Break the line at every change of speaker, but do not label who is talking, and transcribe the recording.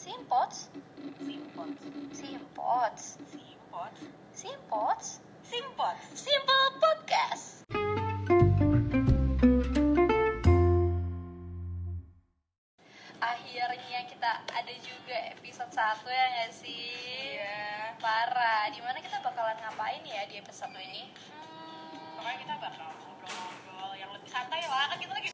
Simpots. Simple Podcast. Akhirnya kita ada juga episode 1 ya nggak sih?
Iya.
Parah. Dimana kita bakalan ngapain ya di episode ini?
Pokoknya kita bakal ngobrol-ngobrol yang lebih santai lah, kan kita lagi